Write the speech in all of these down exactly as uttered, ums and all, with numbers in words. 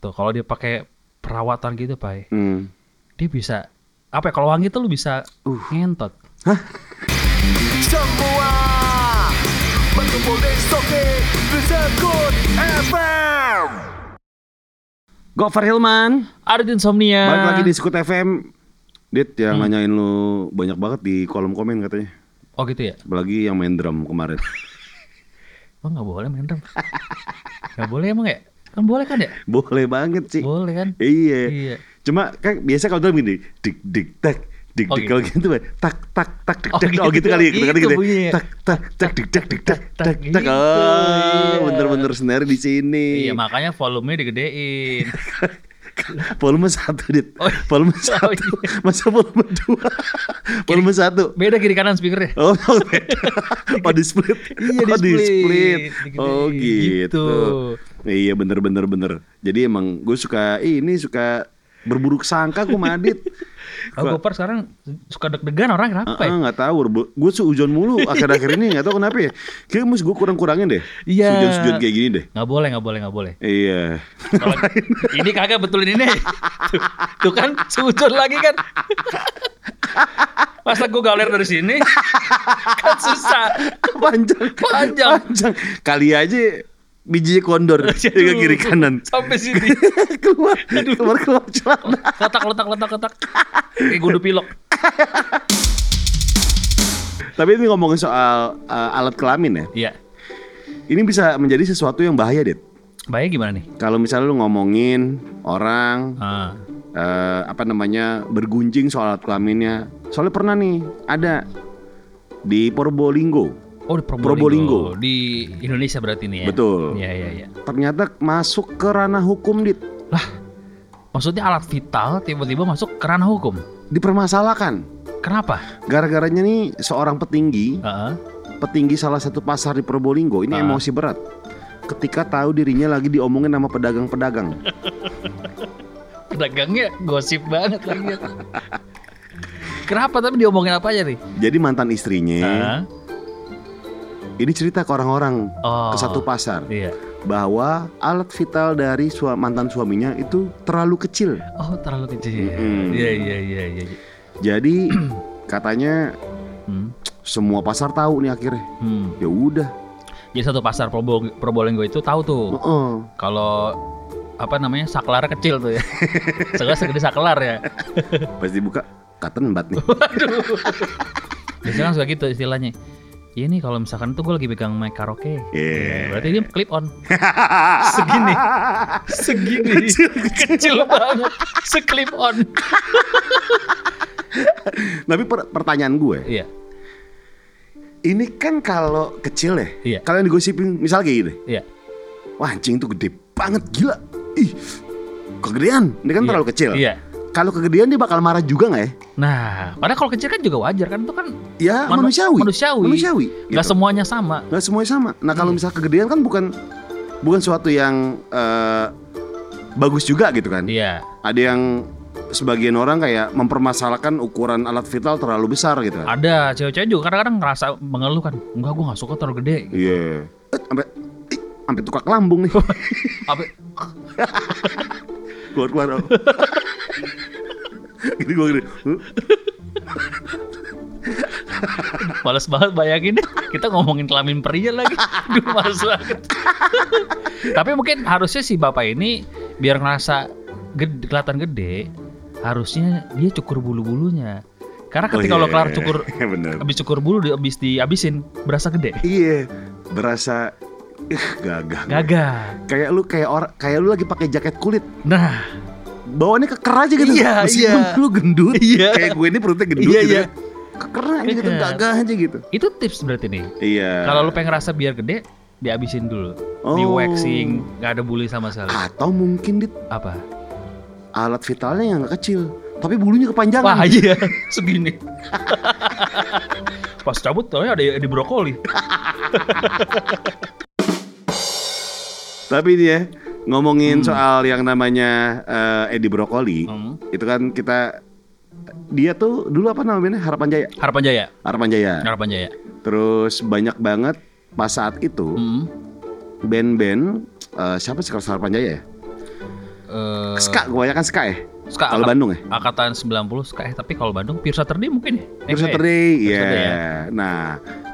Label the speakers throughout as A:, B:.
A: Tuh kalau dia pakai perawatan gitu, Pai.
B: Hmm.
A: Dia bisa apa ya, kalau wangi tuh lu bisa
B: Uh.
A: ngentot.
C: Semua berkumpul di Soke Disebut F M.
B: Gofar Hilman,
A: Ada Insomnia.
B: balik lagi di Skut F M. Dit yang
A: Hmm.
B: nanyain lu banyak banget di kolom komen katanya.
A: Oh gitu ya?
B: Apalagi yang main drum kemarin.
A: Emang gak boleh main drum? Gak boleh emang ya? Kan boleh kan ya?
B: Boleh banget sih.
A: Boleh kan?
B: Iya.
A: Iya.
B: Cuma kan biasa kalau drum gini, dik dik tak, dik
A: Oh,
B: dik
A: gitu.
B: kalau gitu tak tak tak dik
A: Oh,
B: tak.
A: gitu.
B: Oh gitu kali, gitu kali
A: Gitu
B: gitu.
A: bunyinya.
B: Tak tak tak dik tak dik tak tak
A: Gitu,
B: tak. Oh,
A: iya.
B: bener-bener snare di sini.
A: Iya makanya volumenya digedein.
B: Volume satu, Dit.
A: Oh,
B: Volume
A: oh,
B: satu.
A: iya.
B: Masa volume dua? Volume satu.
A: Beda kiri kanan speakernya.
B: Oh, beda. Oh, di split.
A: Iya,
B: Oh, di
A: di-split.
B: split.
A: Digedein.
B: Oh, gitu.
A: Gitu.
B: Iya, bener bener bener. Jadi emang gue suka ini suka berburuk sangka gue Madit.
A: Aku Gopar sekarang suka deg-degan orang kenapa ya?
B: Nggak tahu, gue seujon mulu akhir-akhir ini nggak tahu kenapa ya. Kayaknya mesti gue kurang-kurangin deh.
A: Iya.
B: Sujon-sujon kayak gini deh.
A: Nggak boleh, nggak boleh, nggak boleh.
B: Iya.
A: Kalau ini kagak betulin ini. Tuh, tuh kan sujud lagi kan. Masa gue galer dari sini kan susah.
B: Panjang.
A: Panjang.
B: Panjang. Kali aja bijinya kondor dengan kiri kanan.
A: Sampai sini.
B: keluar, keluar keluar celana.
A: Letak, letak, letak, letak. Kayak gundu pilok.
B: Tapi ini ngomongin soal uh, alat kelamin ya.
A: Iya.
B: Ini bisa menjadi sesuatu yang bahaya, Dit.
A: Bahaya gimana nih?
B: Kalau misalnya lu ngomongin orang
A: Ah.
B: uh, apa namanya bergunjing soal alat kelaminnya. Soalnya pernah nih ada di Probolinggo.
A: Oh di Probolinggo.
B: Probolinggo.
A: Di Indonesia berarti nih ya?
B: Betul.
A: Iya, iya, iya.
B: Ternyata masuk ke ranah hukum, Dit.
A: Lah, maksudnya alat vital tiba-tiba masuk ke ranah hukum?
B: Dipermasalahkan.
A: Kenapa?
B: Gara-garanya nih seorang petinggi,
A: Heeh.
B: petinggi salah satu pasar di Probolinggo ini
A: Ah.
B: emosi berat ketika tahu dirinya lagi diomongin sama pedagang-pedagang.
A: Pedagangnya gosip banget lagi. Kenapa tapi diomongin apa aja nih?
B: Jadi mantan istrinya
A: Heeh.
B: ini cerita ke orang-orang
A: Oh.
B: ke satu pasar
A: Iya.
B: bahwa alat vital dari sua- mantan suaminya itu terlalu kecil.
A: Oh terlalu kecil.
B: Mm-mm.
A: Iya iya iya iya.
B: Jadi katanya
A: Hmm.
B: semua pasar tahu nih akhirnya.
A: Hmm.
B: Ya udah.
A: Jadi satu pasar Probo- Probolinggo itu tahu tuh
B: Heeh.
A: kalau apa namanya saklar kecil tuh ya. Sekarang segede saklar ya.
B: Pas dibuka cotton bud nih.
A: Biasanya kan suka gitu istilahnya. Ya nih kalau misalkan tuh gue lagi pegang mic karaoke,
B: Iya.
A: ya, berarti dia clip on. Segini, segini, kecil, banget, seklip on.
B: Tapi per- pertanyaan gue,
A: Iya,
B: ini kan kalau kecil ya,
A: Iya.
B: kalian digosipin misal kayak gini,
A: iya,
B: wah anjing tuh gede banget gila, ih kegedean, ini kan
A: Iya.
B: terlalu kecil.
A: iya.
B: Kalau kegedean dia bakal marah juga nggak ya?
A: Nah, padahal kalau kecil kan juga wajar kan, itu kan
B: Ya
A: manu-
B: manusiawi,
A: manusiawi.
B: manusiawi.
A: Nggak
B: gitu.
A: semuanya sama.
B: Nggak semuanya sama. Nah kalau
A: Iya.
B: misal kegedean kan bukan bukan suatu yang eh, bagus juga gitu kan?
A: Iya,
B: Ada yang sebagian orang kayak mempermasalahkan ukuran alat vital terlalu besar gitu kan?
A: ada cewek-cewek juga kadang-kadang ngerasa mengeluh kan, enggak gue nggak suka terlalu gede.
B: Iya. Eh, sampai ih, sampai tukak lambung nih.
A: Apa?
B: Keluar-keluar. Oh. Gini gue gini. Huh?
A: Males banget bayangin deh, kita ngomongin kelamin pria lagi. Duh, males banget. Tapi mungkin harusnya si bapak ini biar ngerasa gede, kelihatan gede, harusnya dia cukur bulu-bulunya. Karena ketika
B: Oh,
A: lo
B: iya.
A: kelar cukur,
B: Bener.
A: habis cukur bulu, di- habis dihabisin, berasa gede.
B: Iya, berasa ih, gagah.
A: Gagah.
B: Kayak lu kayak orang kayak lu lagi pakai jaket kulit.
A: Nah,
B: Bawaannya keker aja gitu.
A: Iya,
B: Meskipun
A: iya.
B: lu gendut.
A: Iya.
B: Kayak gue ini perutnya gendut
A: Iya,
B: gitu
A: iya.
B: ya. Keker aja gitu,
A: Keker.
B: gagah aja gitu.
A: itu tips berarti nih.
B: Iya.
A: Kalau lo pengen ngerasa biar gede, dihabisin dulu. Di
B: Oh.
A: waxing, nggak ada bulu sama sekali.
B: Atau mungkin dit
A: Apa?
B: alat vitalnya yang gak kecil, tapi bulunya kepanjangan.
A: Wah iya, segini. Pas cabut taunya ada di brokoli.
B: Tapi ini ya ngomongin
A: Hmm.
B: soal yang namanya eh, Edi Brokoli,
A: Hmm.
B: itu kan kita dia tuh dulu apa namanya Harapan Jaya.
A: Harapan Jaya.
B: Harapan Jaya.
A: Harapan Jaya.
B: Terus banyak banget pas saat itu
A: Hmm.
B: band-band eh, siapa sih kalau Harapan Jaya ya?
A: eh,
B: Ska, kebanyakan ska ya.
A: Ska
B: Kalau
A: angkat-
B: Bandung ya.
A: angkatan sembilan puluh ska eh tapi kalau Bandung Pure Saturday mungkin ya. Eh,
B: Pure
A: enggak ya?
B: Saturday,
A: Pure
B: iya.
A: Saturday ya.
B: Nah,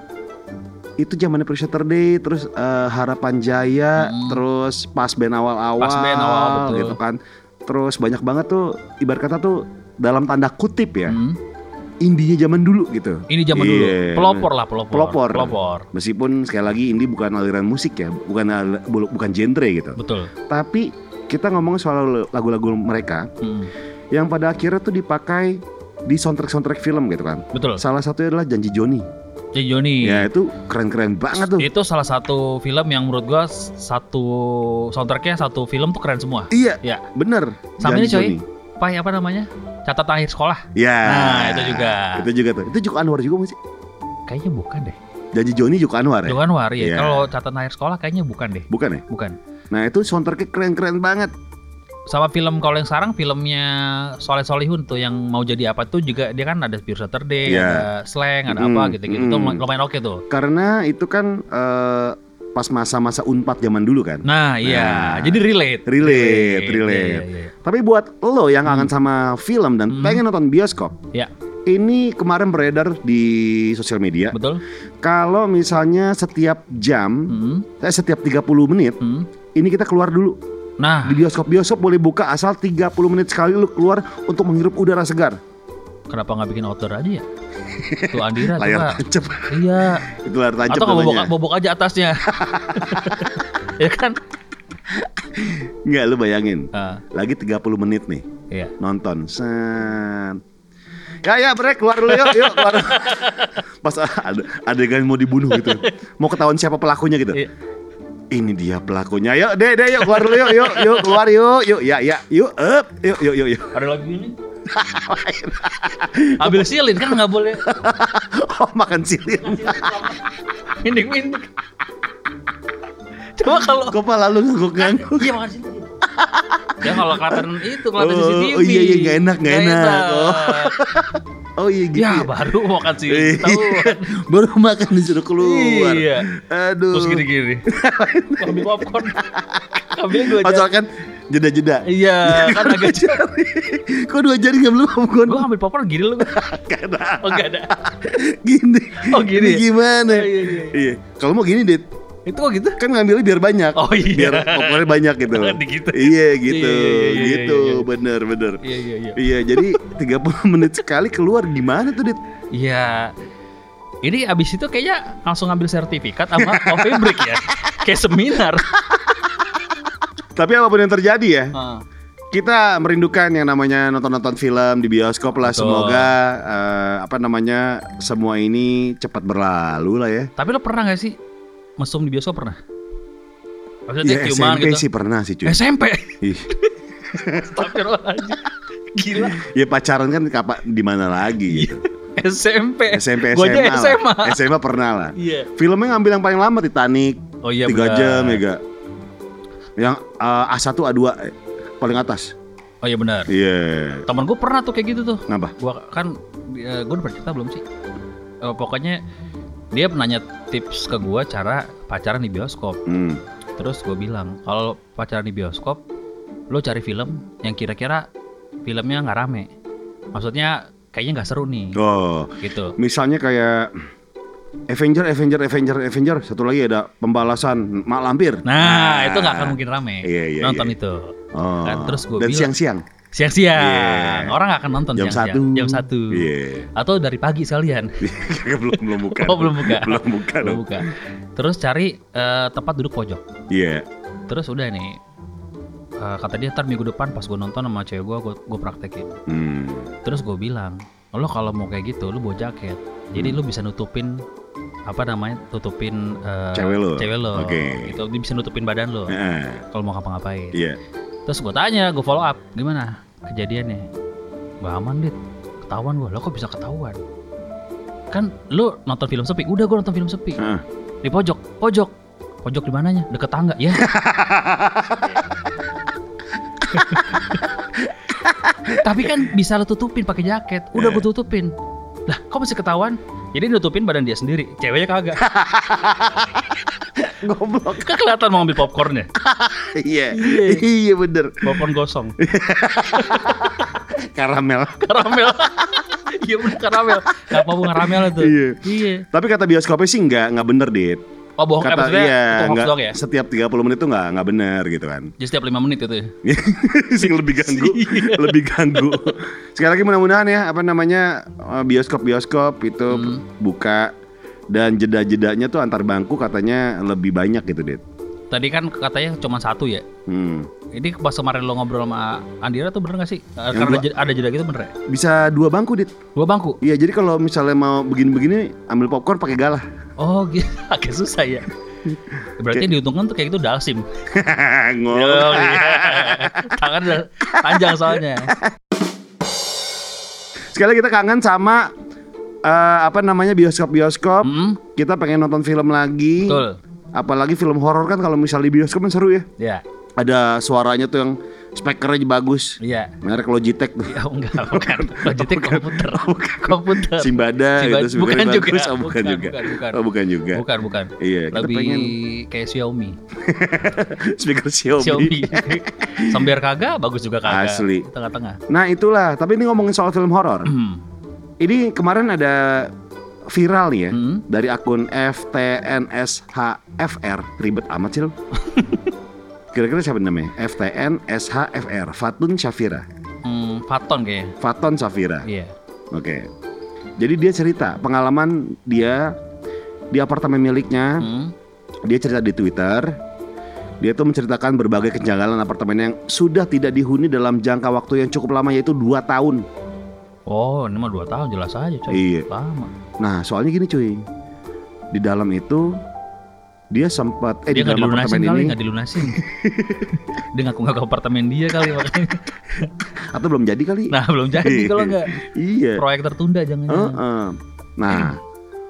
B: itu zamannya Pure Saturday, terus eh, Harapan Jaya,
A: Hmm.
B: terus pas band awal-awal,
A: Pas band awal, betul.
B: gitu kan. Terus banyak banget tuh, ibarat kata tuh dalam tanda kutip ya,
A: Hmm.
B: indinya zaman dulu gitu.
A: Ini zaman dulu.
B: Iya,
A: Pelopor lah, pelopor.
B: Pelopor.
A: Pelopor.
B: Meskipun sekali lagi indie bukan aliran musik ya, bukan al- bu- bukan genre gitu.
A: Betul.
B: Tapi kita ngomong soal lagu-lagu mereka
A: Hmm.
B: yang pada akhirnya tuh dipakai di soundtrack-soundtrack film gitu kan.
A: Betul.
B: Salah satunya adalah Janji Joni.
A: Jadi Joni.
B: Ya itu keren-keren banget tuh.
A: Itu salah satu film yang menurut gua s- satu soundtracknya satu film tuh keren semua.
B: Iya,
A: Ya.
B: bener.
A: Sama ini
B: Janji
A: coy.
B: Joni.
A: Pai apa namanya? Catatan akhir sekolah.
B: Ya.
A: Nah, itu juga.
B: Itu juga tuh. Itu Joko Anwar juga masih.
A: Kayaknya bukan deh.
B: Janji Joni Joko Anwar ya?
A: Joko Anwar ya.
B: Iya.
A: Kalau catatan akhir sekolah kayaknya bukan deh.
B: Bukan ya?
A: Bukan.
B: Nah itu soundtracknya keren-keren banget.
A: Sama film kalau yang sekarang filmnya Soleh Solihun tuh yang mau jadi apa tuh juga dia kan ada Pure Saturday,
B: Iya.
A: ada Slang, ada
B: Mm,
A: apa gitu-gitu. Itu
B: mm.
A: lumayan oke tuh.
B: Karena itu kan eh, pas masa-masa Unpad zaman dulu kan.
A: Nah, iya.
B: Nah.
A: Jadi relate.
B: Relate, relate.
A: Iya, iya, iya.
B: Tapi buat lo yang kangen sama film dan
A: Hmm.
B: pengen nonton bioskop,
A: Ya,
B: ini kemarin beredar di sosial media.
A: betul.
B: Kalau misalnya setiap jam,
A: Hmm.
B: eh, setiap tiga puluh menit,
A: Hmm.
B: ini kita keluar dulu.
A: Nah,
B: Di bioskop-bioskop boleh buka asal tiga puluh menit sekali lu keluar untuk menghirup udara segar.
A: kenapa nggak bikin outdoor aja ya? Tuh Andira
B: Layar
A: coba.
B: tancap.
A: Iya.
B: Itu layar tancap
A: Atau nggak bobok,
B: namanya.
A: bobok aja atasnya. Ya kan?
B: Nggak, lu bayangin.
A: Ah,
B: Lagi tiga puluh menit nih
A: iya.
B: nonton. Set. Ya ya break, keluar dulu yuk, yuk keluar. Pas ada adegan mau dibunuh gitu. Mau ketahuan siapa pelakunya gitu.
A: Iya.
B: Ini dia pelakunya. Yuk, deh, deh, yuk keluar dulu yuk, yuk, yuk keluar yuk, yuk, ya, ya, yuk, up, yuk, yuk, yuk, yuk.
A: Ada lagi ini. Ambil silin kan nggak boleh.
B: Oh, makan silin.
A: Mindik mindik. Coba kalau
B: Kepala lu ngangguk-ngangguk.
A: iya makan silin. Ya kalau kelihatan itu kelihatan
B: Oh,
A: C C T V.
B: oh iya, iya, nggak enak, nggak enak. Oh. Oh iya gitu.
A: Ya
B: ya.
A: baru makan silin. Tahu.
B: Baru makan disuruh keluar.
A: Iya.
B: Aduh.
A: Terus gini-gini. Ambil popcorn. Ambil dua
B: Oh,
A: jari.
B: soalnya kan jeda-jeda.
A: Iya, kan agak
B: jari. Kok dua jari nggak belum popcorn?
A: Gue ambil popcorn gini loh.
B: Gak ada.
A: Oh enggak ada.
B: Gini.
A: Oh, gini
B: Ini
A: ya?
B: gimana?
A: Oh, iya, iya.
B: Iya. Kalau mau gini, Dit.
A: Itu kok gitu?
B: Kan ngambilnya biar banyak.
A: Oh, iya.
B: Biar popcornnya banyak gitu.
A: Gitu.
B: Iya gitu.
A: Iya, iya, iya, iya,
B: gitu.
A: iya, iya.
B: Bener bener.
A: Iya iya iya.
B: Iya, jadi tiga puluh menit sekali keluar gimana tuh, Dit?
A: Iya. Ini abis itu kayaknya langsung ngambil sertifikat sama coffee break ya. Kayak seminar.
B: Tapi apapun yang terjadi ya,
A: Ah.
B: kita merindukan yang namanya nonton-nonton film di bioskop lah.
A: Betul.
B: Semoga eh, apa namanya semua ini cepat berlalu lah ya.
A: Tapi lo pernah gak sih mesum di bioskop pernah? Maksudnya
B: Ya S
A: ciuman
B: M P
A: gitu.
B: sih pernah sih cuy.
A: S M P.
B: Ih.
A: Astagfirullahaladzim. Gila.
B: Ya pacaran kan kapan di mana lagi gitu.
A: S M P.
B: S M P
A: Gua aja
B: S M A.
A: S M A.
B: lah. S M A pernah lah.
A: Iya.
B: Filmnya ngambil yang paling lama Titanic.
A: Oh iya
B: tiga
A: benar.
B: jam ya gak? Yang uh, A satu A dua eh, paling atas.
A: Oh iya benar.
B: Iya.
A: Temen gue pernah tuh kayak gitu tuh.
B: Kenapa?
A: Gua kan uh, gue udah pernah cerita belum sih? Eh, pokoknya dia nanya tips ke gua cara pacaran di bioskop.
B: Hmm.
A: Terus gue bilang kalau pacaran di bioskop, lo cari film yang kira-kira filmnya nggak rame. Maksudnya kayaknya nggak seru nih.
B: Oh,
A: Gitu.
B: misalnya kayak Avenger, Avenger, Avenger, Avenger. Satu lagi ada pembalasan Mak Lampir.
A: Nah, itu nggak akan mungkin rame.
B: Iya, iya,
A: nonton
B: iya.
A: itu.
B: Oh.
A: Kan, terus gua
B: Dan
A: bilang-
B: siang-siang.
A: Siang-siang.
B: Iya.
A: Orang nggak akan nonton
B: Jam
A: siang-siang.
B: satu.
A: Jam satu.
B: Iya.
A: Atau dari pagi sekalian.
B: belum belum buka.
A: Oh belum buka.
B: belum buka.
A: Belum
B: dong.
A: buka. Terus cari eh, tempat duduk pojok.
B: Iya.
A: Terus udah nih. eh, kata dia ntar minggu depan pas gue nonton sama cewek gue, gue praktekin.
B: Hmm.
A: Terus gue bilang, lo kalau mau kayak gitu, lo bawa jaket. Jadi lo bisa nutupin apa namanya, tutupin eh,
B: Cewek lo?
A: Cewek lo.
B: Oke.
A: Gitu, dia bisa nutupin badan lo.
B: Heeh.
A: Kalau mau ngapa-ngapain.
B: Iya.
A: Terus gue tanya, gue follow up, gimana kejadiannya? Gak aman dit, ketahuan gue. Lo kok bisa ketahuan? Kan lo nonton film sepi. Udah gue nonton film sepi.
B: Heeh.
A: Di pojok, pojok, pojok di mananya? Deket tangga, ya. Tapi kan bisa lo tutupin pakai jaket. Udah gue tutupin. Lah, kok masih ketahuan? Jadi nutupin badan dia sendiri, ceweknya kagak.
B: Goblok.
A: Kan kelihatan mau ambil popcorn ya.
B: Iya. Iya bener.
A: Popcorn gosong.
B: Karamel.
A: Karamel. Iya bener karamel. Gak apa bunga karamel itu.
B: Iya.
A: Iya.
B: Tapi kata bioskopnya sih nggak nggak bener, Dit.
A: Oh bohong, eh,
B: Kata
A: maksudnya
B: iya,
A: itu hoax
B: nggak,
A: doang ya?
B: setiap tiga puluh menit tuh nggak nggak bener gitu kan.
A: Jadi setiap lima menit itu ya?
B: Sing lebih ganggu, lebih ganggu. Sekali lagi mudah-mudahan ya apa namanya eh, bioskop-bioskop itu
A: Hmm.
B: buka dan jeda-jedanya tuh antar bangku katanya lebih banyak gitu, Dit.
A: Tadi kan katanya cuma satu ya.
B: Hmm.
A: Ini pas kemarin lo ngobrol sama Andira tuh bener gak sih? Eh,
B: Yang
A: Karena
B: dua-
A: jeda- ada jeda gitu bener ya?
B: Bisa dua bangku, Dit.
A: Dua bangku?
B: Iya, jadi kalau misalnya mau begini-begini ambil popcorn pakai galah.
A: Oh gitu, agak susah ya. Berarti yang diuntungkan tuh kayak gitu dalsim.
B: Ngomong.
A: Oh, iya. Tangan udah panjang soalnya.
B: Sekali lagi kita kangen sama eh, apa namanya bioskop-bioskop.
A: Hmm,
B: Kita pengen nonton film lagi.
A: betul.
B: Apalagi film horor kan kalau misalnya di bioskop kan seru ya.
A: Ya,
B: Ada suaranya tuh yang speakernya bagus.
A: iya.
B: Merek Logitech tuh.
A: Ya enggak, bukan. Logitech komputer. Komputer.
B: Simbada
A: Simbada.
B: gitu
A: Bukan
B: speakernya
A: juga.
B: bagus. Oh, bukan,
A: Bukan,
B: juga.
A: bukan, bukan.
B: Oh bukan juga.
A: Bukan, bukan.
B: Iya, kita
A: Lebih
B: pengen
A: kayak Xiaomi.
B: speaker Xiaomi.
A: Xiaomi. Sambil kagak, bagus juga kagak.
B: Asli.
A: Tengah-tengah.
B: Nah itulah. Tapi ini ngomongin soal film horor.
A: Hmm.
B: Ini kemarin ada viral nih ya
A: Hmm.
B: dari akun F T N S H F R. Ribet amat sih lo. Kira-kira siapa namanya? F T N S H F R. Fatun Shafira.
A: Hmm, Faton kayaknya.
B: Faton Shafira.
A: Iya.
B: Oke. Jadi dia cerita pengalaman dia di apartemen miliknya.
A: Hmm.
B: Dia cerita di Twitter. Dia tuh menceritakan berbagai kejanggalan apartemen yang sudah tidak dihuni dalam jangka waktu yang cukup lama, yaitu dua tahun.
A: Oh, ini mah dua tahun jelas aja coy.
B: Iya.
A: Lama.
B: Nah soalnya gini cuy, di dalam itu dia sempat eh
A: Dia
B: di
A: nggak
B: dalam
A: dilunasin
B: apartemen
A: kali,
B: ini
A: nggak dilunasin. Dia ngaku-ngaku apartemen dia kali makanya.
B: atau belum jadi kali.
A: Nah belum jadi kalau nggak
B: Iya.
A: proyek tertunda jangan.
B: Heeh. Nah,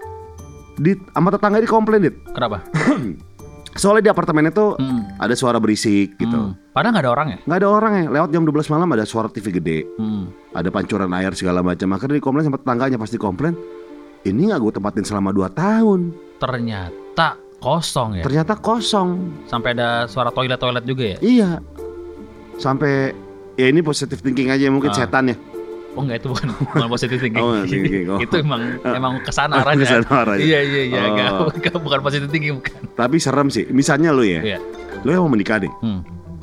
B: di sama tetangga di komplain, Dit.
A: Kenapa?
B: Soalnya di apartemen itu
A: Hmm.
B: ada suara berisik gitu.
A: Hmm. Padahal nggak ada orang ya.
B: Nggak ada orang ya. Lewat jam dua belas malam ada suara T V gede,
A: Hmm.
B: ada pancuran air segala macam. Akhirnya di komplain sama tetangganya, pasti komplain. Ini nggak gue tempatin selama dua tahun.
A: Ternyata kosong ya.
B: Ternyata kosong.
A: Sampai ada suara toilet-toilet juga ya.
B: Iya. Sampai ya ini positive thinking aja mungkin
A: Ah.
B: setan ya.
A: Oh enggak, itu bukan bukan positive thinking.
B: Oh, thinking. Oh.
A: Itu emang emang kesana
B: Oh,
A: arahnya.
B: kesana arahnya.
A: Iya iya iya,
B: Oh.
A: enggak, bukan, bukan positive thinking bukan.
B: Tapi serem sih. Misalnya lu ya,
A: Iya.
B: lu yang mau menikah deh.
A: Hmm.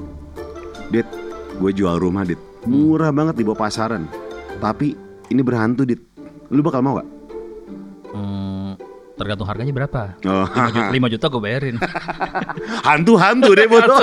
B: Dit, gue jual rumah, Dit. Murah banget di bawah pasaran. Tapi ini berhantu, Dit. Lu bakal mau gak?
A: Hmm, tergantung harganya berapa.
B: Oh.
A: lima juta gue bayarin.
B: Hantu-hantu deh bodoh.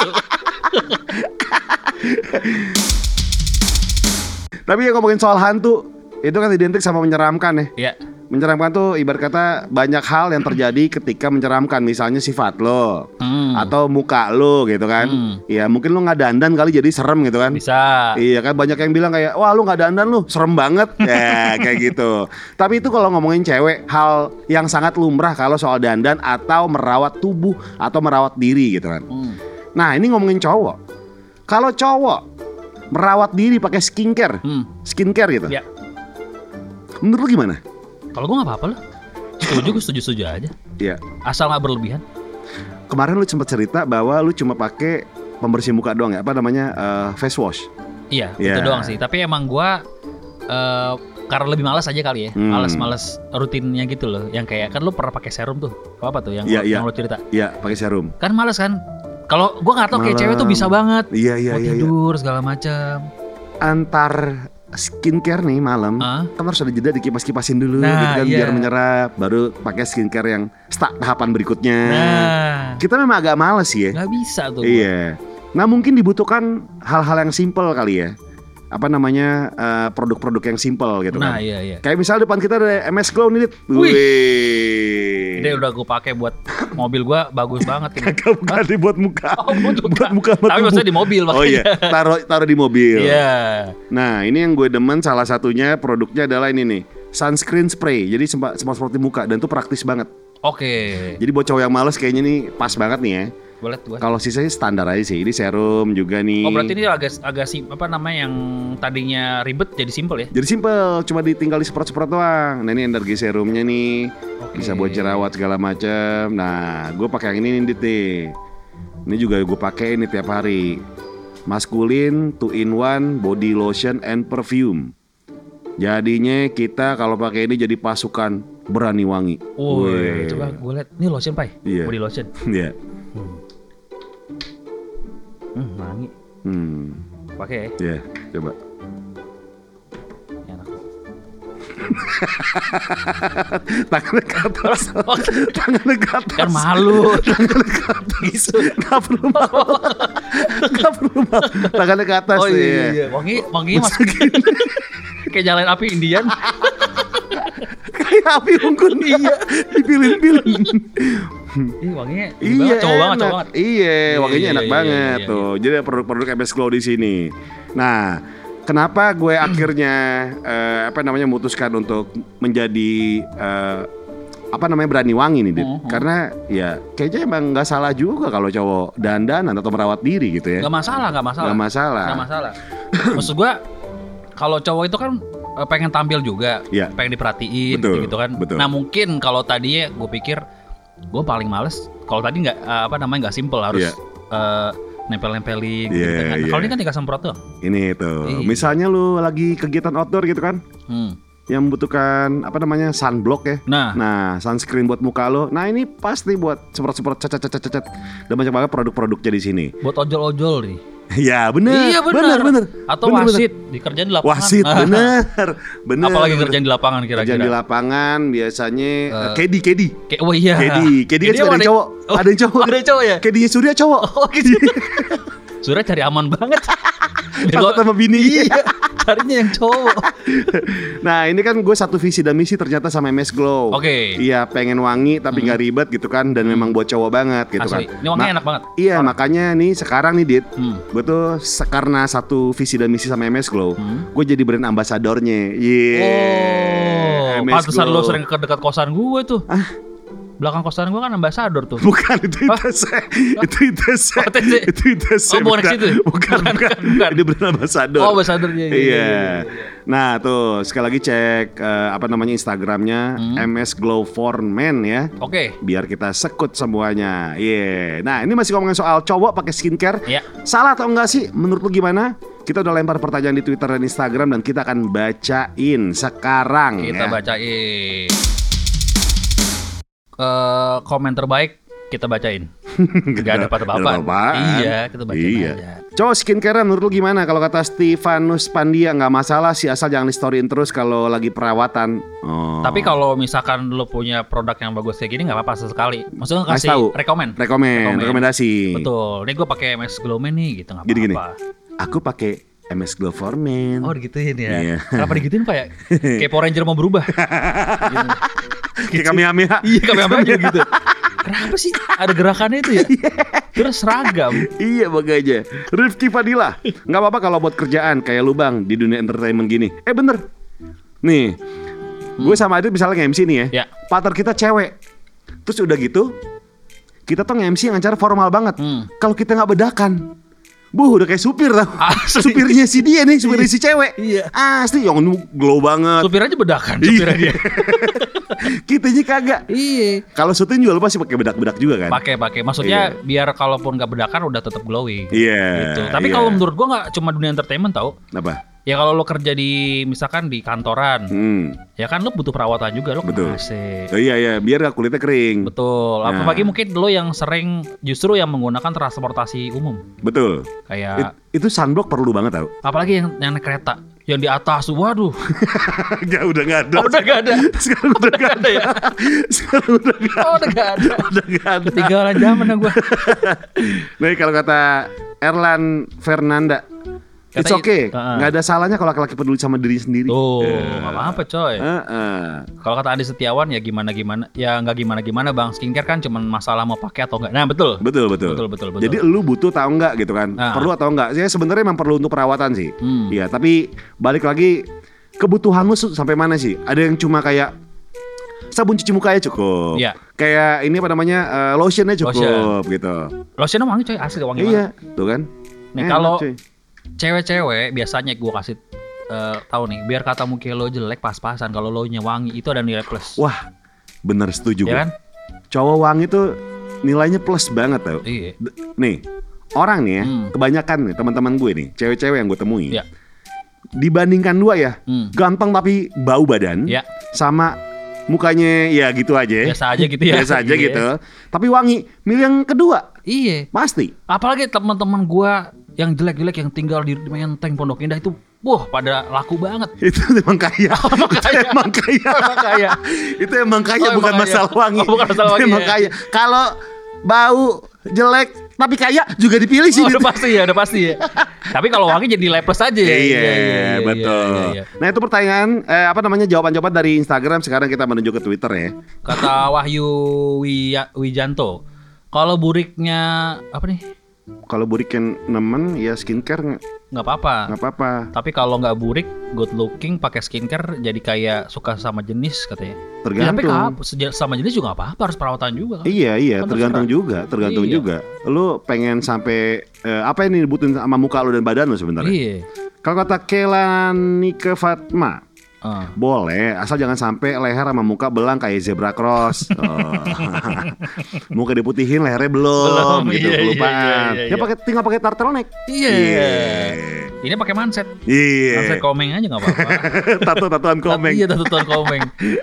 B: Tapi ya ngomongin soal hantu, itu kan identik sama menyeramkan ya.
A: Iya.
B: Menyeramkan tuh ibarat kata banyak hal yang terjadi ketika menyeramkan. Misalnya sifat lo,
A: Hmm.
B: atau muka lo gitu kan.
A: Hmm.
B: Ya mungkin lo nggak dandan kali jadi serem gitu kan.
A: Bisa.
B: Iya kan, banyak yang bilang kayak wah lu nggak dandan lu serem banget ya kayak gitu. Tapi itu kalau ngomongin cewek, hal yang sangat lumrah kalau soal dandan atau merawat tubuh atau merawat diri gitu kan.
A: Hmm.
B: Nah ini ngomongin cowok. Kalau cowok merawat diri pakai skincare,
A: Hmm.
B: skincare gitu.
A: Ya.
B: Menurut lu gimana?
A: Kalau gue nggak apa-apa loh. Setuju, gue setuju-setuju aja.
B: Iya.
A: Asal nggak berlebihan.
B: Kemarin lu sempat cerita bahwa lu cuma pakai pembersih muka doang ya, apa namanya eh, face wash.
A: Iya,
B: Ya.
A: itu doang sih. Tapi emang gue eh, karena lebih malas aja kali ya.
B: Hmm.
A: Malas-malas rutinnya gitu loh. Yang kayak kan lu pernah pakai serum tuh. Apa tuh yang
B: Iya,
A: lu-
B: iya.
A: yang lu cerita?
B: Iya, pakai serum.
A: Kan malas kan. Kalau gue nggak tahu kayak
B: Malam.
A: cewek tuh bisa banget.
B: Iya iya
A: Mau
B: iya. iya.
A: tidur segala macam.
B: Antar skincare nih malam,
A: Ah.
B: kan harus ada jeda dikipas-kipasin dulu
A: Nah,
B: gitu kan
A: iya.
B: biar menyerap, baru pakai skincare yang start tahapan berikutnya.
A: Nah,
B: Kita memang agak males ya.
A: nggak bisa tuh.
B: Iya. Nah mungkin dibutuhkan hal-hal yang simple kali ya. Apa namanya eh, produk-produk yang simple gitu
A: Nah,
B: kan.
A: iya iya.
B: Kayak misalnya depan kita ada M S Glow nih, Dit.
A: Wih.
B: Wih.
A: Ini udah gue pakai buat mobil gue bagus banget ini.
B: Kagak bukan dibuat muka.
A: Oh, buat muka.
B: Buat muka sama
A: Tapi
B: tubuh.
A: maksudnya di mobil
B: Oh iya, taruh taruh di mobil.
A: Iya.
B: Nah, ini yang gue demen salah satunya produknya adalah ini nih, sunscreen spray. Jadi sempat sempat seperti muka dan itu praktis banget.
A: Oke.
B: Jadi buat cowok yang males kayaknya nih pas banget nih ya.
A: boleh gua.
B: Kalau sisanya standar aja sih. Ini serum juga nih.
A: Oh berarti ini agak agak sim, apa namanya yang tadinya ribet jadi simple ya?
B: Jadi simple, cuma ditinggal disemprot-semprot doang. Nah ini energi serumnya nih,
A: Oke.
B: bisa buat jerawat segala macam. Nah, gue pakai yang ini nih, Dit, nih. Ini juga gue pakai ini tiap hari. Maskulin two in one body lotion and perfume. Jadinya kita kalau pakai ini jadi pasukan berani wangi.
A: Woi, coba gue lihat. Ini lotion pai,
B: Iya.
A: body lotion.
B: Iya.
A: Hmm, wangi.
B: Hmm.
A: Pakai ya.
B: Iya, coba.
A: Enak.
B: Tangannya ke atas. Tangannya ke atas.
A: Kan malu.
B: Tangannya ke atas.
A: Gitu.
B: Gak perlu malu. Gak perlu malu. Tangannya ke atas.
A: Oh iya,
B: iya.
A: iya. Wangi, wangi mas. Kayak nyalain api Indian.
B: Kayak api unggun. Iya. Dipilin-pilin.
A: Ih, wanginya ini
B: Iya,
A: banget, cowok banget,
B: enak.
A: cowok banget.
B: Iya, wanginya
A: iya,
B: enak
A: iya,
B: banget
A: iya, iya,
B: tuh. Jadi ada produk-produk M S Glow di sini. Nah, kenapa gue akhirnya eh, apa namanya memutuskan untuk menjadi eh, apa namanya berani wangi nih, Dit?
A: Mhm.
B: Karena ya kayaknya emang nggak salah juga kalau cowok dandan atau merawat diri gitu ya.
A: Gak masalah, gak masalah.
B: Nggak masalah.
A: Gak masalah. Maksud gua kalau cowok itu kan eh, pengen tampil juga,
B: Iya.
A: pengen diperhatiin
B: Betul,
A: gitu kan.
B: betul.
A: Nah mungkin kalau tadinya gue pikir gue paling males kalau tadi nggak eh, apa namanya nggak simple harus
B: Iya.
A: eh, nempel-nempelin gitu
B: Iya,
A: kan.
B: iya.
A: Kalau ini kan tinggal semprot tuh.
B: Ini tuh.
A: Iya.
B: Misalnya lu lagi kegiatan outdoor gitu kan,
A: Hmm.
B: yang membutuhkan apa namanya sunblock ya.
A: Nah,
B: Nah, sunscreen buat muka lo. Nah, ini pasti buat semprot-semprot cet-cet-cet-cet. Dan banyak banget produk-produknya di sini.
A: buat ojol-ojol nih.
B: Ya, bener.
A: Iya
B: Bener,
A: benar.
B: bener.
A: Atau
B: Bener,
A: wasit dikerjain di lapangan.
B: Wasit, bener. Bener.
A: Apalagi
B: bener.
A: kerjaan di lapangan
B: Kerjaan di
A: kira-kira.
B: lapangan biasanya
A: Eh,
B: uh, kedi, kedi.
A: Kayak oh iya.
B: Kedi, kedi kan
A: Kedi
B: suka ada
A: ada-
B: yang cowok.
A: Oh,
B: Ada yang cowok.
A: ada yang cowok ya?
B: Kedinya Surya cowok.
A: Oh gitu. Surya cari aman banget. Biar
B: Takut
A: gua-
B: sama bini.
A: Iya, carinya yang cowok.
B: Nah, ini kan gue satu visi dan misi ternyata sama M S Glow.
A: Oke.
B: Iya, pengen wangi tapi nggak ribet gitu kan, dan memang buat cowok banget gitu
A: Asli.
B: kan.
A: Ini wanginya
B: Ma-
A: enak banget.
B: Iya, makanya nih sekarang nih, Dit.
A: Hmm.
B: Gue tuh se- karena satu visi dan misi sama M S Glow,
A: Hmm.
B: gue jadi brand ambasadornya. Iya.
A: Oh,
B: M S
A: pantesan
B: Glow.
A: lo sering ke dekat kosan gue tuh. Belakang kosan gue kan ambasador tuh.
B: Bukan itu
A: Hah?
B: itu saya. Itu itu saya.
A: Oh, T C.
B: Itu itu saya.
A: Oh, bukan ke situ?
B: Bukan, bukan.
A: Bukan, bukan.
B: Ini brand ambasador.
A: Oh, ambasador, iya, iya,
B: Iya.
A: iya, iya, iya.
B: Nah, tuh sekali lagi cek eh, apa namanya Instagramnya
A: Hmm.
B: M S Glow for Men ya.
A: Oke.
B: Biar kita sekut semuanya. Iya. Nah, ini masih ngomongin soal cowok pakai skincare.
A: Iya.
B: Salah atau enggak sih? Menurut lu gimana? Kita udah lempar pertanyaan di Twitter dan Instagram dan kita akan bacain sekarang.
A: Kita
B: ya.
A: bacain. Eh, komen terbaik kita bacain. Gak ada apa-apa.
B: Gak ada apa-apaan.
A: Iya, kita bacain
B: Iya.
A: aja.
B: Cowok skincare menurut lu gimana? Kalau kata Stefanus Pandia nggak masalah sih asal jangan di storyin terus kalau lagi perawatan. Oh.
A: Tapi kalau misalkan lo punya produk yang bagus kayak gini nggak apa-apa sesekali. Maksudnya
B: Kasih
A: kasih
B: tahu.
A: rekomen.
B: Rekomen,
A: Rekomen.
B: rekomendasi.
A: Betul. Ini gue pakai M S Glow Man nih gitu nggak
B: Gini, gini.
A: apa-apa.
B: Aku pakai M S Glow for Men.
A: Oh digituin ya.
B: Iya.
A: Kenapa digituin Pak ya? Kayak Power Ranger mau berubah. Gitu.
B: Kayak Kamehameha.
A: Iya kami apa aja gitu. Kenapa sih ada gerakannya itu ya? Terus seragam.
B: Iya makanya. Rifki Fadila, nggak apa-apa kalau buat kerjaan kayak lu bang di dunia entertainment gini. Eh bener, nih, gue sama Adit misalnya nge-M C nih ya.
A: Ya.
B: Partner kita cewek, terus udah gitu, kita tuh nge-M C yang acara formal banget.
A: Hmm.
B: Kalau kita nggak bedakan, buh udah kayak supir tau.
A: Asli.
B: Supirnya si dia nih, supirnya si cewek.
A: Iya.
B: Asli yang glow banget.
A: Supir aja bedakan
B: Iya.
A: supirnya dia.
B: Kitanya kagak.
A: Iya.
B: Kalau syuting juga lu pasti pakai bedak-bedak juga kan?
A: Pakai pakai. Maksudnya biar kalaupun nggak bedakan udah tetap glowing.
B: Iya.
A: Gitu. Tapi
B: iya.
A: kalau menurut gua nggak cuma dunia entertainment tau.
B: Apa?
A: Ya kalau lo kerja di misalkan di kantoran,
B: Hmm.
A: ya kan lo butuh perawatan juga, lo
B: Betul.
A: kena A C.
B: Oh, iya iya, biar gak kulitnya kering.
A: Betul.
B: Nah.
A: Apalagi mungkin lo yang sering justru yang menggunakan transportasi umum,
B: Betul.
A: kayak
B: It- itu sunblock perlu banget tau.
A: apalagi yang yang naik kereta, yang di atas, waduh,
B: Gak udah gak ada.
A: oh, udah gak ada,
B: Sekarang udah gak
A: ada ya,
B: Sekarang udah gak
A: oh udah gak ada,
B: Udah gak ada.
A: ketinggalan zaman gue.
B: Nih kalau kata Erlan Fernanda, it's
A: Katanya-
B: okay.
A: Uh-uh.
B: Gak ada salahnya kalau laki-laki peduli sama diri sendiri.
A: Tuh,
B: Eh.
A: nggak apa-apa coy.
B: Uh-uh.
A: Kalau kata Andi Setiawan ya gimana gimana, ya nggak gimana gimana bang. Skincare kan cuma masalah mau pakai atau enggak. Nah betul.
B: Betul betul.
A: Betul, betul, betul.
B: Jadi lu butuh tahu nggak gitu kan?
A: Nah.
B: Perlu atau enggak? Ya sebenarnya emang perlu untuk perawatan sih.
A: Hmm.
B: Iya, tapi balik lagi kebutuhan lu su- sampai mana sih? Ada yang cuma kayak sabun cuci muka ya cukup.
A: Iya.
B: Kayak ini apa namanya uh, lotionnya cukup gitu.
A: Lotionnya wangi coy, asli wangi
B: Iya,
A: banget.
B: tuh kan.
A: Nih
B: Enak,
A: kalau
B: cuy.
A: cewek-cewek biasanya gue kasih uh, tahu nih, biar kata muka lo jelek pas-pasan, kalau lo nya wangi itu ada nilai plus.
B: Wah, bener setuju
A: Ya
B: gua.
A: kan?
B: Cowok wangi tuh nilainya plus banget tau.
A: Iya.
B: D- Nih, orang nih ya,
A: Hmm.
B: kebanyakan nih teman-teman gue nih, cewek-cewek yang gue temui.
A: Ya.
B: Dibandingkan dua ya,
A: Hmm.
B: ganteng tapi bau badan,
A: Ya.
B: sama mukanya ya gitu aja.
A: Biasa aja gitu ya.
B: Biasa aja
A: Iya.
B: gitu. Tapi wangi, milih yang kedua,
A: Iya.
B: pasti.
A: Apalagi teman-teman gua yang jelek-jelek yang tinggal di Menteng Pondok Indah itu, wah pada laku banget.
B: Itu emang kaya.
A: emang
B: Itu
A: kaya.
B: emang kaya.
A: Emang kaya.
B: Itu emang kaya,
A: Oh,
B: bukan
A: emang kaya.
B: masalah wangi.
A: Oh, bukan masalah
B: Itu
A: wangi
B: emang
A: ya.
B: kaya. Kalau bau jelek tapi kaya juga dipilih sih.
A: Oh,
B: gitu.
A: udah pasti ya, udah pasti ya. Tapi kalau wangi jadi nilai plus aja ya.
B: Iya, betul.
A: iya, iya.
B: Nah itu pertanyaan, eh, apa namanya jawaban-jawaban dari Instagram. Sekarang kita menuju ke Twitter ya.
A: Kata Wahyu Wiya- Wijanto, kalau buriknya apa nih?
B: Kalau burik yang nemen ya skincare nggak
A: Nggak apa-apa.
B: nggak apa-apa.
A: Tapi kalau nggak burik, good looking, pakai skincare jadi kayak suka sama jenis katanya. Ya, tapi
B: Tergantung.
A: kalau seja- sama jenis juga nggak apa-apa, harus perawatan juga kan.
B: Iya iya
A: Kan
B: tergantung
A: terserah.
B: juga, tergantung
A: Iya.
B: juga. Lu pengen sampai eh, apa yang dibutuhin sama muka lu dan badan lu sebenarnya?
A: Iya.
B: Kalau kata Kelanike Fatma,
A: Ah.
B: boleh, asal jangan sampai leher sama muka belang kayak zebra cross. Oh. Muka diputihin, lehernya belum,
A: Belum,
B: gitu,
A: iya, iya,
B: kelupaan.
A: iya, iya,
B: Ya
A: iya.
B: pakai tinggal pakai turtleneck.
A: Iya.
B: Iya.
A: Ini pakai manset.
B: Iya.
A: Manset komeng aja nggak apa-apa.
B: Tato-tatoan komeng.
A: Iya, tutupan komeng.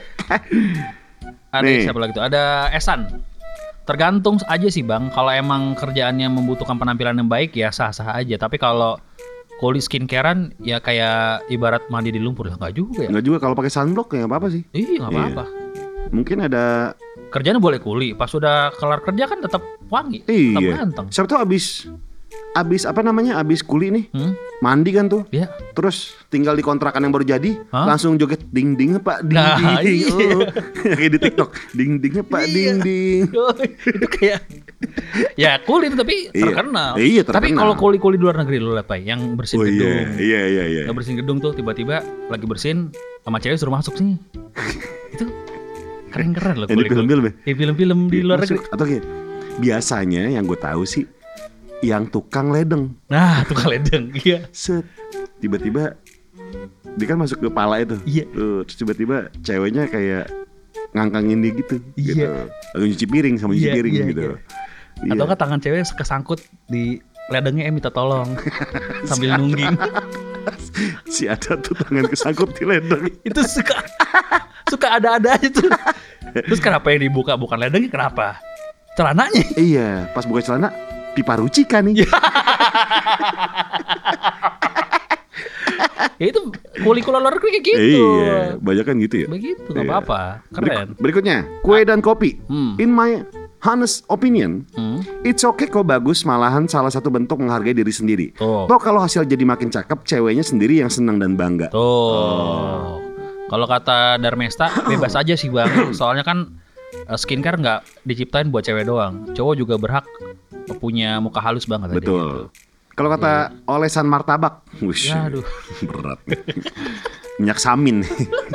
A: Ada
B: Nih.
A: siapa lagi tuh? Ada Esan. Tergantung aja sih bang. Kalau emang kerjaannya membutuhkan penampilan yang baik ya sah-sah aja. Tapi kalau kulit skincarean ya kayak ibarat mandi di lumpur lah, nggak juga ya?
B: Enggak juga kalau pakai sunblock ya nggak apa-apa sih.
A: Iya nggak apa-apa.
B: Mungkin ada
A: Kerjanya boleh kuli. Pas sudah kelar kerja kan tetap wangi, tetap
B: iya.
A: ganteng.
B: Siapa tahu abis abis apa namanya? Abis kuli nih.
A: Hmm?
B: Mandi kan tuh.
A: Ya.
B: Terus tinggal di kontrakan yang baru jadi,
A: Hah?
B: langsung joget ding ding pak ding
A: Nah,
B: ding.
A: iya.
B: Oh. Kayak di TikTok, ding ding pak
A: Iya.
B: ding ding.
A: Itu kayak ya kulit tapi
B: Iya.
A: terkenal.
B: Iya,
A: Tapi
B: terkenal.
A: kalau kuli-kuli di luar negeri lu lihat Pak, yang bersihin
B: Oh
A: gedung.
B: iya, iya iya iya.
A: Nggak bersihin gedung tuh tiba-tiba lagi bersihin sama cewek suruh masuk sih. Itu keren-keren loh
B: Yang di
A: kuli-kuli.
B: film-film ya?
A: Di film-film di luar
B: Masuk.
A: negeri.
B: Atau kayak biasanya yang gue tahu sih yang tukang ledeng.
A: Nah, tukang ledeng. Iya.
B: Set. Tiba-tiba dia kan masuk ke pala itu.
A: Iya.
B: Tuh, terus tiba-tiba ceweknya kayak ngangkangin dia gitu.
A: Iya.
B: Gitu. Lalu nyuci piring sama nyuci
A: Iya,
B: piring
A: iya,
B: gitu.
A: iya.
B: Iya.
A: Atau kan tangan cewek kesangkut di ledengnya eh minta tolong sambil nungging.
B: Si ada tuh tangan kesangkut di ledeng.
A: Itu suka suka ada-ada aja tuh. Terus kenapa yang dibuka bukan ledengnya, kenapa? Celananya.
B: Iya, pas buka celana pipa rucika nih.
A: Ya itu kuli-kuli luar negeri kayak gitu.
B: Iya, banyak kan gitu ya.
A: Begitu, nggak
B: Iya.
A: apa-apa. Keren.
B: Berik- berikutnya, kue dan kopi.
A: Hmm.
B: In my honest opinion,
A: Hmm.
B: it's okay kok bagus, malahan salah satu bentuk menghargai diri sendiri.
A: Tuh.
B: Toh kalau hasil jadi makin cakep, ceweknya sendiri yang senang dan bangga.
A: Tuh. Kalau kata Darmesta, bebas aja sih bang. Soalnya kan eh, skincare nggak diciptain buat cewek doang. Cowok juga berhak punya muka halus banget. tadi gitu.
B: Betul. Kalau kata olesan martabak, wush,
A: Ya, aduh.
B: berat. Minyak samin.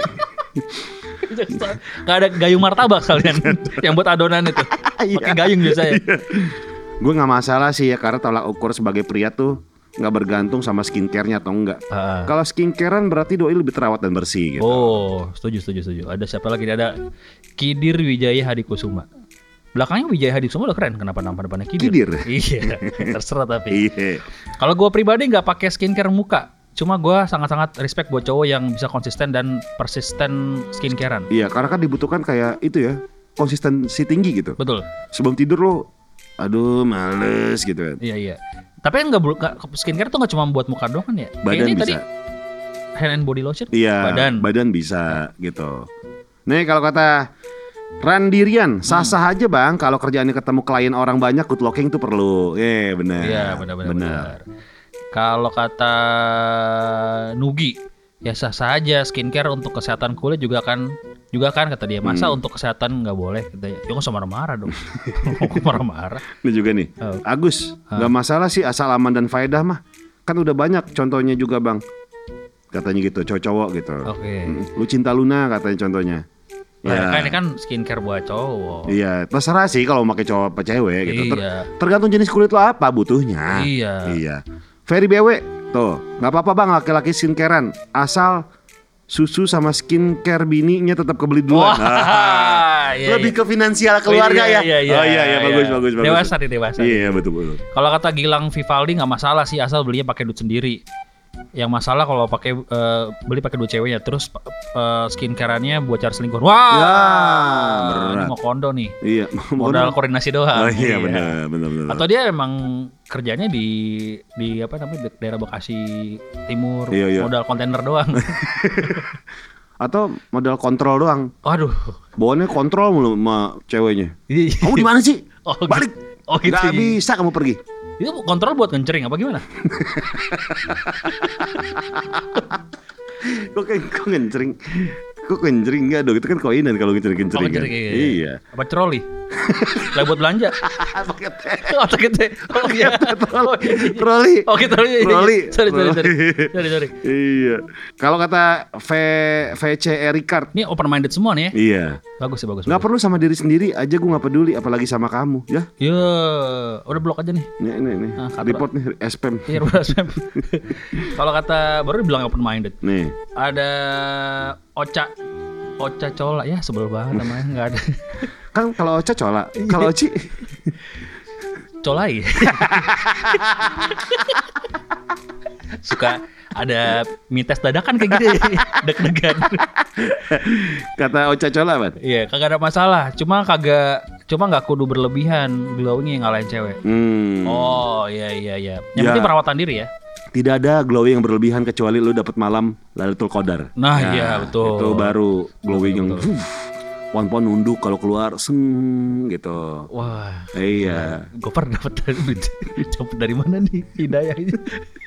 A: Gak ada gayung martabak kalian yang buat adonan itu. Pakai gayung biasanya.
B: Gue nggak masalah sih ya karena tolak ukur sebagai pria tuh nggak bergantung sama skincare-nya atau enggak.
A: Ah.
B: Kalau skincarean berarti doi lebih terawat dan bersih gitu.
A: Oh, setuju, setuju, setuju. Ada siapa lagi? Ada Kidir Wijaya Hadikusuma. Belakangnya Wijaya Hadikusuma udah keren. Kenapa nama depannya Kidir?
B: Kidir.
A: Iya, terserah tapi.
B: Iya.
A: Kalau gue pribadi nggak pakai skincare muka. Cuma gue sangat-sangat respect buat cowok yang bisa konsisten dan persisten skincarean.
B: Iya, karena kan dibutuhkan kayak itu ya, konsistensi tinggi gitu.
A: Betul.
B: Sebelum tidur lo, aduh males gitu kan.
A: Iya, iya. Tapi kan nggak nggak- skincare tuh nggak cuma buat muka doang kan ya?
B: Badan
A: Kayaknya
B: bisa.
A: tadi hand and body lotion.
B: Iya,
A: Badan.
B: badan bisa gitu. Nih kalau kata Randirian, sah-sah aja bang. Kalau kerjaannya ketemu klien orang banyak, good looking tuh perlu. Eh benar.
A: Iya, benar-benar. benar. Kalau kata Nugi, ya sah-sah aja skincare untuk kesehatan kulit juga kan juga kan kata dia. Masa
B: Hmm.
A: untuk kesehatan nggak boleh? Katanya. Ya nggak usah marah-marah dong. Kok marah-marah?
B: Ini juga nih,
A: Oh.
B: Agus, nggak masalah sih asal aman dan faedah mah. Kan udah banyak contohnya juga bang. Katanya gitu, cowok-cowok gitu.
A: Oke.
B: Mm, Lu cinta Luna katanya contohnya. Ya.
A: Kan ini kan skincare buat cowok.
B: Iya, terserah sih kalau mau pakai cowok apa cewek gitu. Ter-
A: Iya.
B: tergantung jenis kulit lo apa butuhnya.
A: Iya.
B: Iya. Ferry B W, tuh, nggak apa-apa bang laki-laki skincarean, asal susu sama skincare bininya tetap kebeli duluan.
A: Wah, iya,
B: Lebih
A: iya.
B: ke finansial keluarga
A: Iya,
B: ya.
A: iya, iya,
B: oh iya iya bagus
A: iya.
B: bagus bagus.
A: Dewasa nih, dewasa.
B: Iya betul betul.
A: Kalau kata Gilang Vivaldi nggak masalah sih asal belinya pakai duit sendiri. Yang masalah kalau pakai eh, beli pakai duit ceweknya terus uh, skincareannya buat cari selingkuh. Wah,
B: Ya,
A: ini
B: berat.
A: mau kondo nih.
B: Iya.
A: Modal koordinasi doang.
B: Oh iya benar benar benar.
A: Atau dia emang kerjanya di di apa namanya di daerah Bekasi Timur,
B: Iya, iya.
A: modal kontainer doang.
B: Atau modal kontrol doang.
A: Waduh.
B: Bawaannya kontrol mulu sama ceweknya.
A: Iya.
B: Kamu di mana sih?
A: Oh, gitu.
B: Balik.
A: Oh, gitu.
B: Gak bisa kamu pergi.
A: Itu kontrol buat ngecering apa gimana?
B: Kok kayak kok ngencering? Kok ngencering enggak dong? Itu kan koinan kalau ngencering-ngencering.
A: Oh,
B: kan?
A: ngecering, iya.
B: Iya.
A: Apa troli? Lah buat belanja.
B: Pakai teh.
A: Oh, pakai teh. Oh iya. Oh, iya, iya.
B: Troli.
A: Oke, troli. Iya, iya.
B: Troli.
A: Sorry, sorry, sorry.
B: Troli.
A: Sorry, sorry.
B: Iya. Kalau kata V VC Ricard,
A: Ini open minded semua nih ya.
B: iya.
A: Bagus sih, bagus.
B: Nggak
A: bagus.
B: perlu sama diri sendiri aja, gue nggak peduli, apalagi sama kamu, ya.
A: Ya, udah blok aja nih.
B: Nih, nih, nih.
A: Ah, kata-
B: Report nih, spam.
A: Iya, udah spam. Kalau kata baru dibilang open minded.
B: Nih,
A: Ada Ocha Ocha Cola ya sebel banget namanya nggak ada
B: kan kalau Ocha cola,
A: Iya.
B: kalau Oci,
A: Colai suka ada mites dadakan kayak gitu ya deg-degan.
B: kata Ocha cola, Bang.
A: Iya kagak ada masalah cuma kagak cuma nggak kudu berlebihan glowing yang ngalahin cewek.
B: Hmm.
A: Oh iya iya iya yang
B: Ya.
A: penting perawatan diri ya.
B: Tidak ada glowing yang berlebihan kecuali lu dapat malam Lailatul Qadar.
A: Nah, iya, betul.
B: Itu baru glowing
A: Betul,
B: yang
A: betul.
B: uh, pohon-pohon nunduk kalau keluar seng gitu.
A: Wah
B: Iya.
A: gue pernah dapat dari dapat dari mana nih hidayahnya.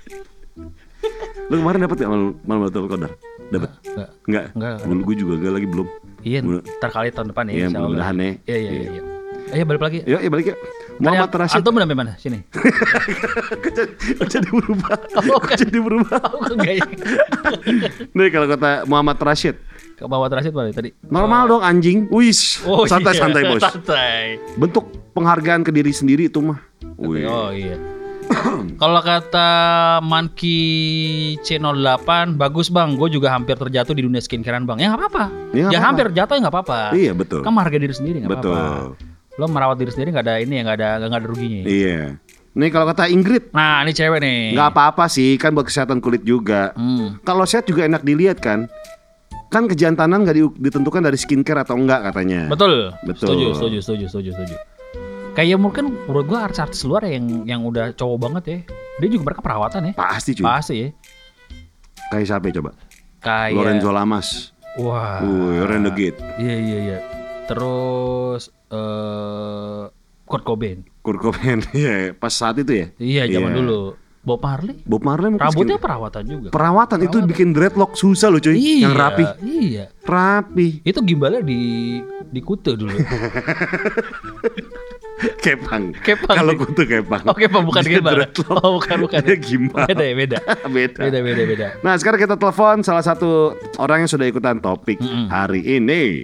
B: Lu kemarin dapat nggak malam malam Lailatul Qadar? Dapat?
A: Nggak.
B: Enggak.
A: Nggak.
B: Gue juga enggak lagi belum.
A: Iya,
B: Mudah-
A: ntar kali tahun depan ya.
B: Iya,
A: insya Allah.
B: mudah-mudahan ya.
A: Iya, iya, iya. iya. Ayo balik lagi.
B: Yuk, ya balik yuk. Muhammad
A: Tanya,
B: Rashid.
A: Antum sampai mana? Sini.
B: Kok jadi berubah?
A: Oh,
B: Kok
A: kan.
B: jadi berubah?
A: Oh, enggak ya.
B: Nih kalau kata Muhammad Rashid,
A: Ke bawah terakhir balik tadi.
B: normal dong anjing. Wis,
A: Oh,
B: santai-santai
A: iya.
B: bos.
A: Santai.
B: Bentuk penghargaan ke diri sendiri itu mah. Wih.
A: Oh iya. Kalau kata Monkey C nol delapan, bagus bang, gue juga hampir terjatuh di dunia skincarean bang. Ya nggak apa-apa.
B: Ya, nggak
A: Ya
B: apa-apa.
A: hampir jatuh ya nggak apa-apa.
B: Iya betul.
A: Kan menghargai diri sendiri nggak
B: Betul.
A: apa-apa. Lo merawat diri sendiri nggak ada ini ya nggak ada nggak ada ruginya.
B: Iya. Nih kalau kata Ingrid,
A: Nah ini cewek nih.
B: nggak apa-apa sih, kan buat kesehatan kulit juga.
A: Hmm.
B: Kalau sehat juga enak dilihat kan. Kan kejantanan nggak di- ditentukan dari skincare atau enggak katanya.
A: Betul.
B: Betul.
A: Setuju, setuju, setuju, setuju, setuju. Kayak mungkin menurut gua artis-artis luar yang yang udah cowok banget ya. Dia juga mereka perawatan ya.
B: Pasti cuy.
A: Pasti ya.
B: Kayak siapa ya, coba?
A: Kayak
B: Lorenzo Lamas.
A: Wah.
B: Wih, Renegade.
A: Iya, iya, iya. Terus eh Kurt Cobain.
B: Kurt Cobain. Iya, pas saat itu ya.
A: Iya, zaman
B: Iya.
A: dulu. Bob Marley.
B: Bob Marley mungkin
A: Rambutnya
B: skin-
A: perawatan juga.
B: perawatan itu
A: Perawatan.
B: bikin dreadlock susah loh cuy.
A: Iya,
B: Yang rapi.
A: Iya.
B: Rapi.
A: Itu gimbalnya di di Kute dulu.
B: Kepang.
A: Kepang.
B: Kalau kutu kepang.
A: Oke, Pak, bukan
B: Dia
A: gimbal.
B: dreadlock.
A: Oh, bukan, bukan.
B: Dia gimbal.
A: Beda ya, beda.
B: Beda.
A: Beda, beda, beda.
B: Nah sekarang kita telepon salah satu orang yang sudah ikutan topik
A: Mm-mm.
B: hari ini.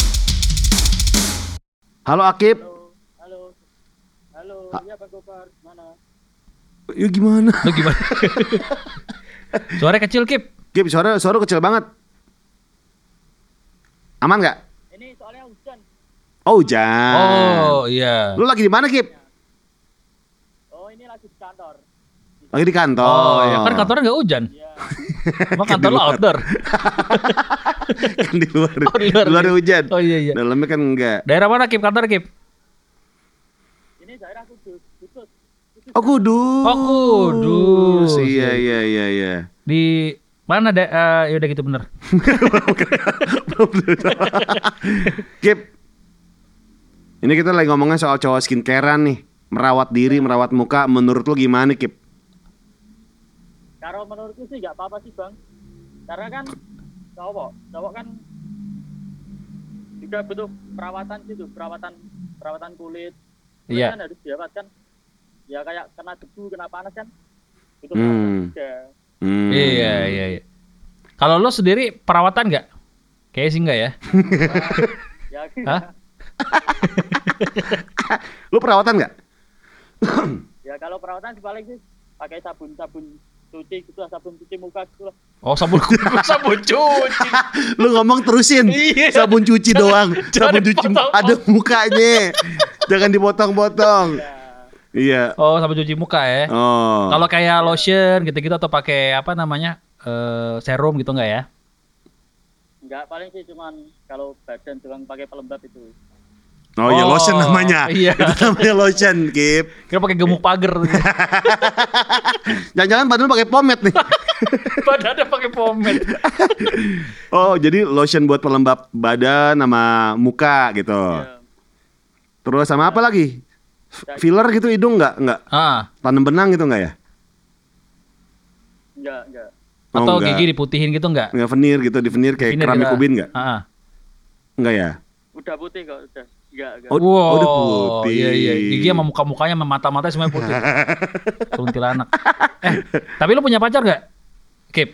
B: Halo Akib.
D: Halo. Halo, iya Pak Gopar, mana?
B: Ya gimana?
A: Lu gimana? Suaranya kecil, Kip.
B: Kib, suara suara kecil banget. Aman nggak?
D: Ini soalnya hujan.
B: Oh hujan.
A: Oh, iya.
B: Lu lagi di mana Kib?
D: Oh, ini lagi di kantor.
B: Lagi di kantor.
A: Oh, ya kan kantornya nggak hujan.
D: Iya.
A: Emang kantor lo outdoor.
B: Kan di luar.
A: Oh, di luar.
B: Luar hujan.
A: Oh iya iya.
B: Dalamnya kan enggak.
A: Daerah mana, Kip? Kantor, Kip?
D: Ini daerah Kudus. Kudus. Kudus.
B: Oh Kudus.
A: Oh, Kudus.
B: Iya iya iya iya.
A: Di mana da eh, ya udah gitu bener.
B: Kip. Ini kita lagi ngomongin soal cowok skincarean nih. Merawat diri, merawat muka. Menurut lu gimana Kip?
D: Kalau menurutku sih nggak apa-apa sih Bang. Karena kan cowok, cowok kan juga butuh perawatan gitu, perawatan perawatan kulit. Kulit
A: Iya.
D: kan harus dirawat kan. Ya kayak kena debu, kena panas kan. Itu
B: Hmm.
D: perawatan juga.
B: Hmm.
A: Iya iya iya. Kalau lo sendiri perawatan nggak? Kayaknya sih enggak ya.
D: Ya,
A: Hah?
B: Lu perawatan nggak?
D: ya kalau perawatan sih paling sih pakai sabun sabun cuci gitu lah, sabun cuci muka gitu lah.
A: Oh sabun sabun cuci.
B: Lu ngomong terusin.
A: Iya.
B: Sabun cuci doang.
A: jangan
B: Sabun cuci
A: dipotong.
B: ada mukanya. Jangan dipotong-potong.
D: Ya,
B: Iya.
A: Oh sabun cuci muka ya.
B: Oh.
A: Kalau kayak lotion gitu-gitu atau pakai apa namanya eh, serum gitu enggak ya?
D: enggak paling sih cuman kalau badan doang pakai pelembab itu.
B: Oh, ya
A: Oh,
B: lotion namanya.
A: iya.
B: Itu namanya lotion, Kip.
A: Kira pakai gemuk pagar.
B: Jangan-jangan badan lu pakai pomade nih.
A: Badannya pakai pomade.
B: Oh, jadi lotion buat pelembab badan sama muka gitu.
D: Ya,
B: Terus sama apa lagi? Filler gitu hidung nggak? Nggak.
A: Ah,
B: Tanam benang gitu nggak ya?
D: enggak enggak.
B: Oh,
A: atau
B: nggak.
A: gigi diputihin gitu enggak?
B: Nggak veneer gitu, di veneer kayak
A: Veneer
B: keramik
A: gitu.
B: ubin nggak?
A: Ah, ah.
B: Nggak ya?
D: Udah putih kok, udah. Enggak, enggak.
B: Oh,
A: Wow,
B: oh, udah putih.
A: Iya iya, gigi sama muka-mukanya sama mata-matanya semuanya putih. Kuntilanak. Eh, tapi lu punya pacar gak? Kip.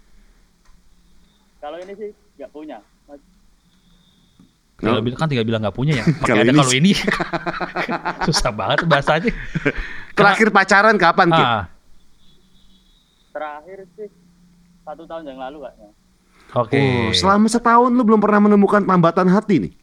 D: Kalau ini sih enggak punya. Mas-
A: Tinggal
B: Oh.
A: bilang kan tinggal bilang nggak punya ya. Pakai
B: Kalau
A: ada
B: ini
A: kalau ini. Susah banget bahasanya.
B: Terakhir pacaran kapan, Kip?
A: Ah,
D: Terakhir sih satu tahun yang lalu kayaknya.
A: oke.
B: Oh, selama setahun lu belum pernah menemukan tambatan hati nih?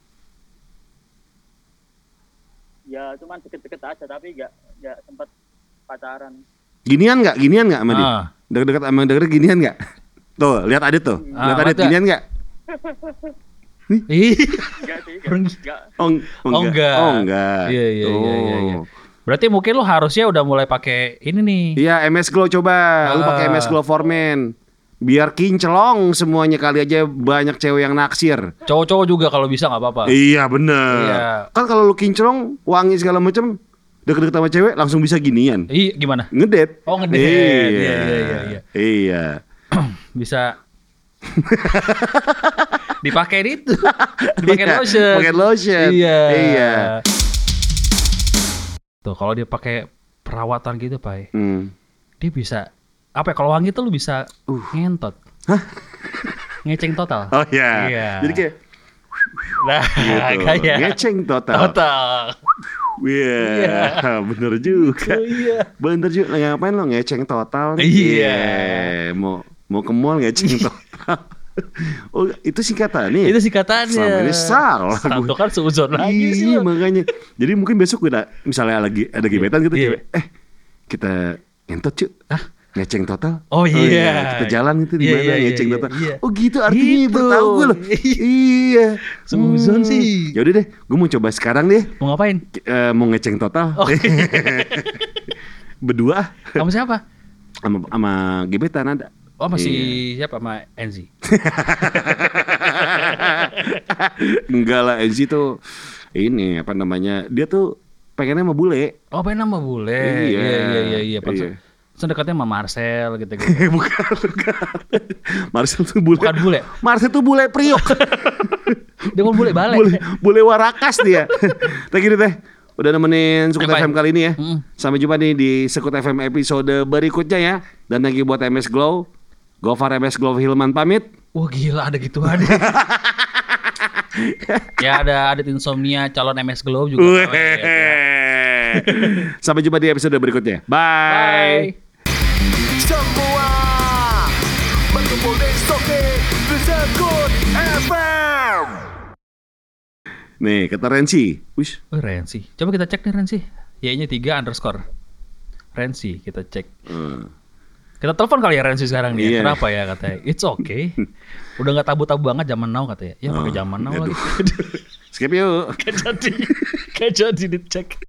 D: Ya cuman deket-deket aja tapi enggak enggak sempat pacaran.
B: Ginian nggak? Ginian nggak sama dia?
A: Ah.
B: Deket-deket sama deket ginian nggak? Tuh, lihat Adit tuh.
A: Ah,
B: Lihat Adit
A: lihat
B: ginian nggak?
A: Ih.
D: Enggak sih,
A: Orang-
D: enggak. enggak.
B: Oh, eng-
A: Oh, enggak.
B: Oh, enggak.
A: Iya, iya, iya, iya, iya.
B: Oh.
A: Berarti mungkin lu harusnya udah mulai pakai ini nih.
B: Iya, M S Glow coba. Lu
A: Ah.
B: pakai M S Glow for Men. Biar kinclong semuanya, kali aja banyak cewek yang naksir.
A: Cowok-cowok juga kalau bisa nggak apa-apa.
B: Iya, bener.
A: Iya.
B: Kan kalau lu kinclong, wangi segala macam, deket-deket sama cewek langsung bisa ginian.
A: Ih, gimana?
B: Ngedet.
A: Oh, ngedet.
B: Iya.
A: Iya, iya, iya, iya.
B: Iya.
A: Bisa dipakai itu. Dipakai
B: Iya,
A: lotion.
B: pakai lotion.
A: Iya.
B: Iya.
A: Tuh, kalau dia pakai perawatan gitu, Pak.
B: Hmm.
A: Dia bisa apa ya, kalau wangi tuh lu bisa
B: Uh.
A: ngentot. Ngeceng total.
B: Oh iya.
A: Iya.
B: Jadi kayak
A: Nah,
B: gitu.
A: kayak
B: Ngeceng total.
A: total.
B: Iya, bener juga.
A: Oh, iya.
B: Bener juga. Lagi ngapain lo ngeceng total? nih?
A: Iya.
B: Mau mau ke mall ngeceng total. Oh, itu singkatannya.
A: Itu singkatannya.
B: Selama ini salah.
A: Satu kan seuzon lagi sih.
B: Iya,
A: lo.
B: makanya. Jadi mungkin besok gue misalnya lagi ada gebetan gitu,
A: Iya.
B: cewek, eh kita ngentot cuy. Ngeceng total.
A: Oh, iya.
B: Kita jalan itu di
A: Iya,
B: mana
A: iya,
B: ngeceng
A: iya,
B: total.
A: iya.
B: Oh gitu artinya
A: Gitu.
B: baru tahu gue loh. Iya.
A: Seuzon sih.
B: Ya udah deh, gue mau coba sekarang deh.
A: Mau ngapain?
B: Eh, mau ngeceng total.
A: Oh.
B: Berdua
A: Kamu siapa?
B: sama sama gebetan ada.
A: Oh, masih
B: Iya.
A: siapa sama Enzi?
B: Enggak lah, Enzi tuh ini apa namanya? Dia tuh pengennya sama bule.
A: Oh, pengen nama bule.
B: Iya.
A: Iya, iya, iya, iya.
B: Iya.
A: Sedekatnya sama Marcel gitu-gitu.
B: bukan, bukan. Marcel tuh bule.
A: Bukan bule.
B: Marcel tuh bule priok.
A: Dia mau bule balik.
B: bule, bule warakas dia. Thank you teh. Udah nemenin Sekut
A: Bye-bye.
B: F M kali ini ya.
A: Mm.
B: Sampai jumpa nih di Sekut F M episode berikutnya ya. Dan thank you buat M S Glow. Gofar M S Glow Hilman pamit.
A: Wah, gila ada gituan. Ya ada Adit Insomnia calon M S Glow juga.
B: Weh.
A: pamit, ya.
B: Sampai jumpa di episode berikutnya.
A: Bye.
B: Bye.
C: Semua berkumpul di Soke di Sekut F M.
B: Nih kata Rensi. Wish.
A: Oh, Rensi. Coba kita cek nih Rensi. Y-nya tiga underscore. Rensi kita cek.
B: Hmm.
A: Kita telepon kali ya Rensi sekarang nih.
B: Iya.
A: Kenapa ya katanya? It's okay. Udah nggak tabu-tabu banget zaman now katanya. Ya pakai
B: Oh,
A: zaman now
B: aduh.
A: lagi.
B: Skip yuk.
A: Gak jadi. Gak jadi dicek.